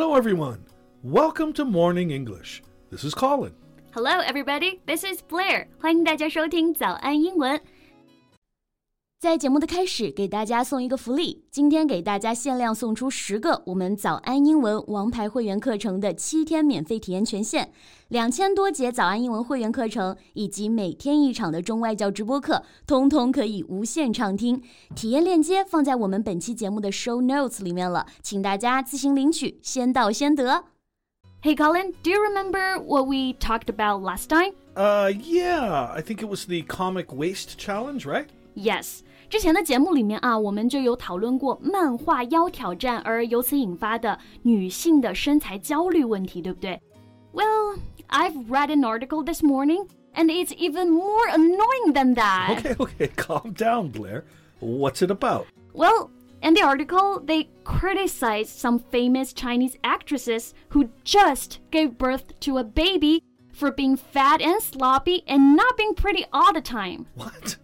Hello, everyone. Welcome to Morning English. This is Colin. Hello, everybody. This is Blair. 欢迎大家收听早安英文。在节目的开始，给大家送一个福利。今天给大家限量送出10个我们早安英文王牌会员课程的7天免费体验权限，2000多节早安英文会员课程以及每天1场的中外教直播课，通通可以无限畅听。体验链接放在我们本期节目的 show notes 里面了，请大家自行领取，先到先得。Hey Colin, do you remember what we talked about last time? Yeah, I think it was the comic waist challenge, right? Yes. 之前的节目里面啊，我们就有讨论过漫画腰挑战而由此引发的女性的身材焦虑问题，对不对？ Well, I've read an article this morning, and it's even more annoying than that. Okay, calm down, Blair. What's it about? Well, in the article, they criticized some famous Chinese actresses who just gave birth to a baby for being fat and sloppy and not being pretty all the time. What?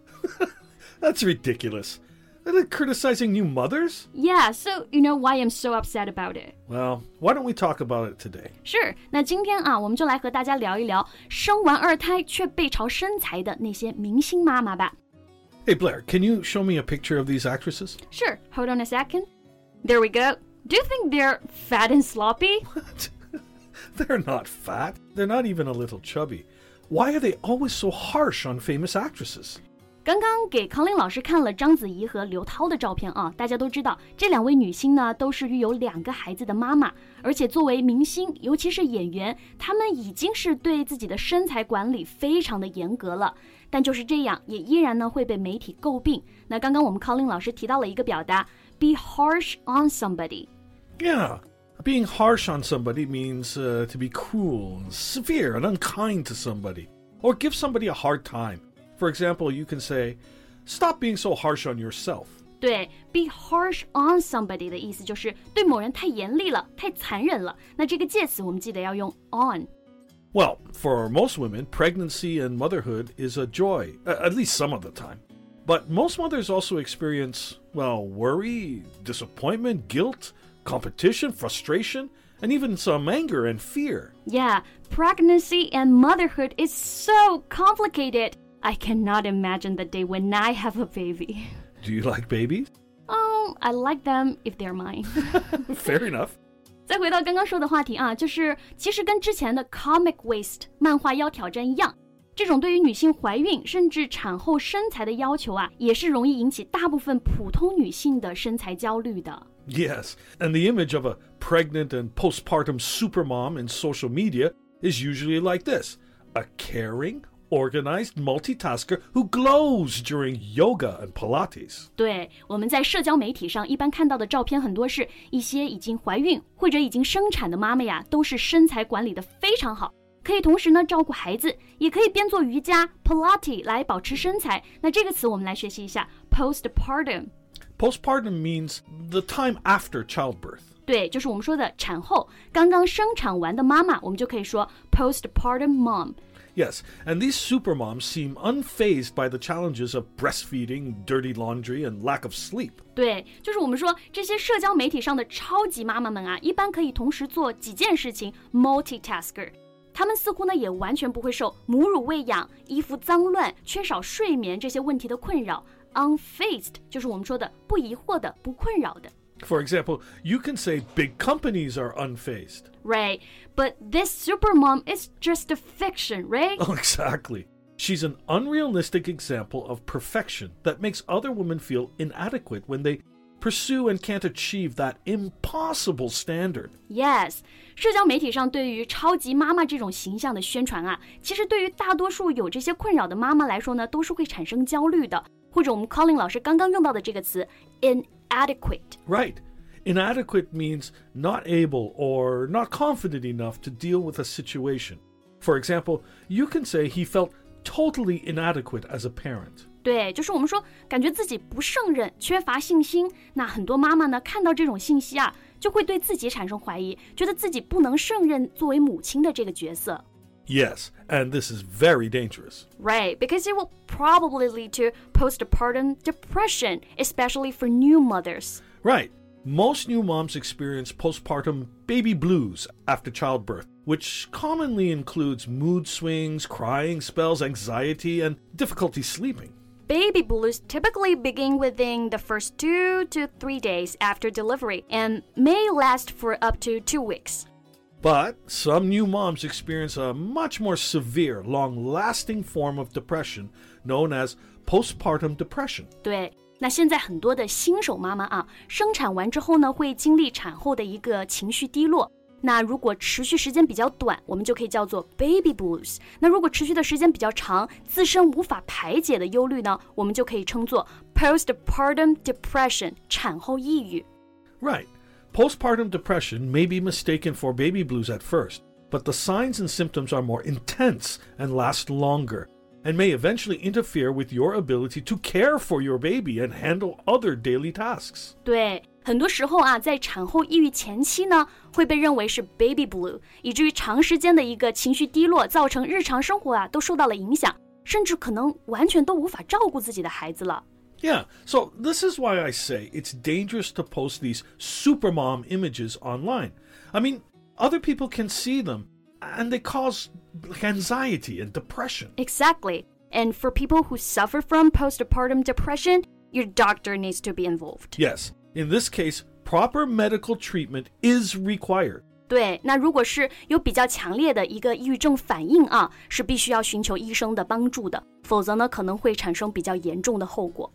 That's ridiculous. They're criticizing new mothers? Yeah, so you know why I'm so upset about it. Well, why don't we talk about it today? Sure. 那今天啊，我们就来和大家聊一聊生完2胎却背朝身材的那些明星妈妈吧。 Hey, Blair, can you show me a picture of these actresses? Sure. Hold on a second. There we go. Do you think they're fat and sloppy? What? They're not fat. They're not even a little chubby. Why are they always so harsh on famous actresses? 刚刚给康林老师看了章子怡和刘涛的照片啊，大家都知道这2位女星呢都是育有2个孩子的妈妈，而且作为明星，尤其是演员，她们已经是对自己的身材管理非常的严格了，但就是这样也依然呢会被媒体诟病。那刚刚我们康林老师提到了一个表达 be harsh on somebody. Yeah, being harsh on somebody means to be cruel, severe, and unkind to somebody, or give somebody a hard time.For example, you can say, stop being so harsh on yourself. 对 be harsh on somebody 的意思就是对某人太严厉了，太残忍了。那这个介词我们记得要用 on. Well, for most women, pregnancy and motherhood is a joy, at least some of the time. But most mothers also experience, worry, disappointment, guilt, competition, frustration, and even some anger and fear. Yeah, pregnancy and motherhood is so complicated.I cannot imagine the day when I have a baby. Do you like babies? Oh, I like them if they're mine. Fair enough. 再回到刚刚说的话题啊，就是其实跟之前的 comic waist 漫画腰挑战一样，这种对于女性怀孕甚至产后身材的要求啊，也是容易引起大部分普通女性的身材焦虑的。 Yes, and the image of a pregnant and postpartum supermom in social media is usually like this: a caring,organized multitasker who glows during yoga and Pilates. 对，我们在社交媒体上一般看到的照片很多是一些已经怀孕或者已经生产的妈妈呀，都是身材管理的非常好，可以同时呢照顾孩子，也可以边做瑜伽 Pilates 来保持身材。那这个词我们来学习一下 postpartum. Postpartum means the time after childbirth. 对，就是我们说的产后，刚刚生产完的妈妈，我们就可以说 postpartum mom.Yes, and these supermoms seem unfazed by the challenges of breastfeeding, dirty laundry, and lack of sleep. 对，就是我们说这些社交媒体上的超级妈妈们啊，一般可以同时做几件事情 multitasker. 她们似乎呢也完全不会受母乳喂养、衣服脏乱、缺少睡眠这些问题的困扰。Unfazed 就是我们说的不疑惑的、不困扰的。 For example, you can say big companies are unfazed. Right, but this supermom is just a fiction, right? Oh, exactly. She's an unrealistic example of perfection that makes other women feel inadequate when they pursue and can't achieve that impossible standard. Yes, 社交媒体上对于超级妈妈这种形象的宣传啊，其实对于大多数有这些困扰的妈妈来说呢，都是会产生焦虑的。或者我们 Colin 老师刚刚用到的这个词 inadequate. Right. Inadequate means not able or not confident enough to deal with a situation. For example, you can say he felt totally inadequate as a parent. 对，就是我们说感觉自己不胜任，缺乏信心。那很多妈妈呢，看到这种信息啊，就会对自己产生怀疑，觉得自己不能胜任作为母亲的这个角色。 Yes, and this is very dangerous. Right, because it will probably lead to postpartum depression, especially for new mothers. Right. most new moms experience postpartum baby blues after childbirth, which commonly includes mood swings, crying spells, anxiety, and difficulty sleeping. Baby blues typically begin within the first 2 to 3 days after delivery and may last for up to 2 weeks. But some new moms experience a much more severe, long-lasting form of depression known as postpartum depression. 对，那现在很多的新手妈妈啊，生产完之后呢，会经历产后的一个情绪低落。那如果持续时间比较短，我们就可以叫做 baby blues。那如果持续的时间比较长，自身无法排解的忧虑呢，我们就可以称作 postpartum depression， 产后抑郁。 Right. Postpartum depression may be mistaken for baby blues at first, but the signs and symptoms are more intense and last longer, and may eventually interfere with your ability to care for your baby and handle other daily tasks. 对，很多时候啊，在产后抑郁前期呢，会被认为是 baby blue， 以至于长时间的一个情绪低落，造成日常生活啊都受到了影响，甚至可能完全都无法照顾自己的孩子了。 Yeah, so this is why I say it's dangerous to post these supermom images online. I mean, other people can see them, and they cause anxiety and depression. Exactly. And for people who suffer from postpartum depression, your doctor needs to be involved. Yes, in this case, proper medical treatment is required. 对，那如果是有比较强烈的一个抑郁症反应啊，是必须要寻求医生的帮助的，否则呢，可能会产生比较严重的后果。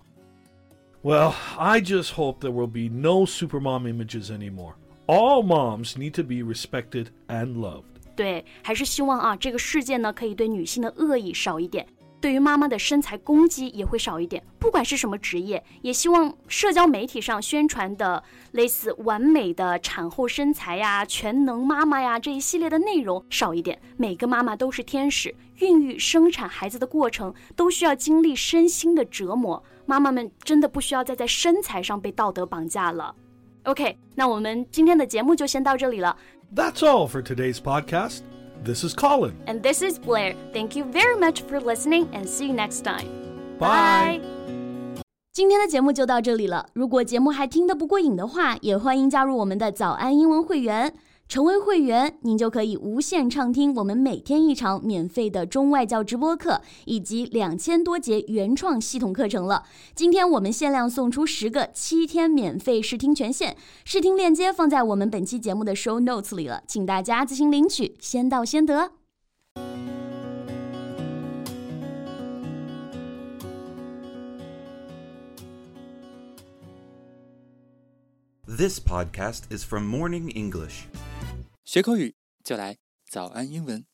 Well, I just hope there will be no supermom images anymore. All moms need to be respected and loved. 对，还是希望啊，这个世界呢，可以对女性的恶意少一点，对于妈妈的身材攻击也会少一点。不管是什么职业，也希望社交媒体上宣传的类似完美的产后身材呀、全能妈妈呀这一系列的内容少一点。每个妈妈都是天使，孕育、生产孩子的过程都需要经历身心的折磨。妈妈们真的不需要再在身材上被道德绑架了。OK， 那我们今天的节目就先到这里了。 That's all for today's podcast. This is Colin. And this is Blair. Thank you very much for listening and see you next time. Bye. 今天的节目就到这里了。如果节目还听得不过瘾的话，也欢迎加入我们的早安英文会员。成为会员，您就可以无限畅听我们每天一场免费的中外教直播课，以及2000多节原创系统课程了。今天我们限量送出10个7天免费试听权限，试听链接放在我们本期节目的 show notes 里了，请大家自行领取，先到先得。 This podcast is from Morning English. 学口语就来早安英文。